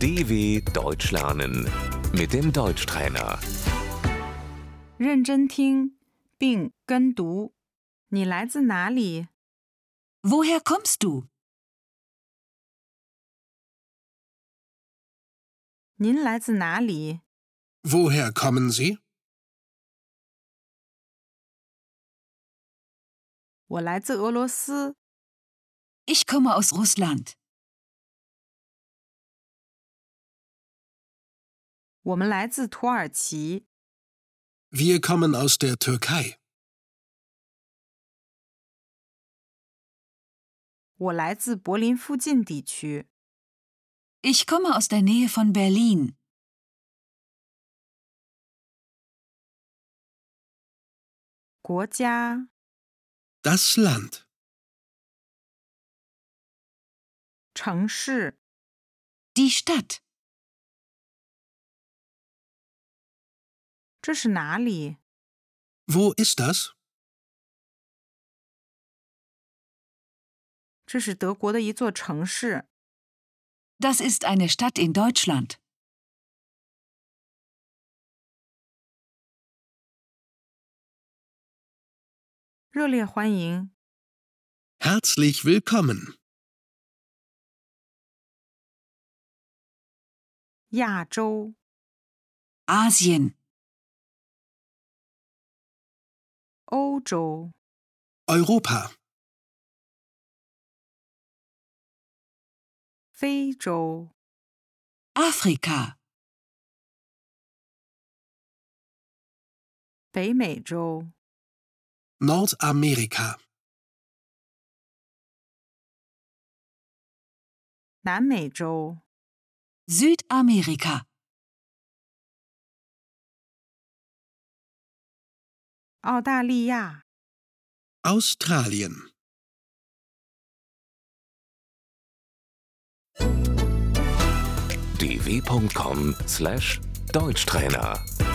DW Deutsch lernen mit dem Deutschtrainer. 认真听并跟读。你来自哪里？ Woher kommst du? 您来自哪里？ Woher kommen Sie? 我来自俄罗斯。 Ich komme aus Russland. 我们来自土耳其。 Wir kommen aus der Türkei. 我来自柏林附近地区。 Ich komme aus der Nähe von Berlin. 国家、 Das Land. 城市、 Die Stadt. 这是哪里？ Wo ist das? 这是德国的一座城市。 Das ist eine Stadt in Deutschland. 热烈欢迎。 Herzlich willkommen. 亚洲、 Asien. 欧洲、 Europa. 非洲、 Afrika. 北美洲、 Nordamerika. 南美洲、 Südamerika. 澳大利亚、 Australien. dw.com/Deutschtrainer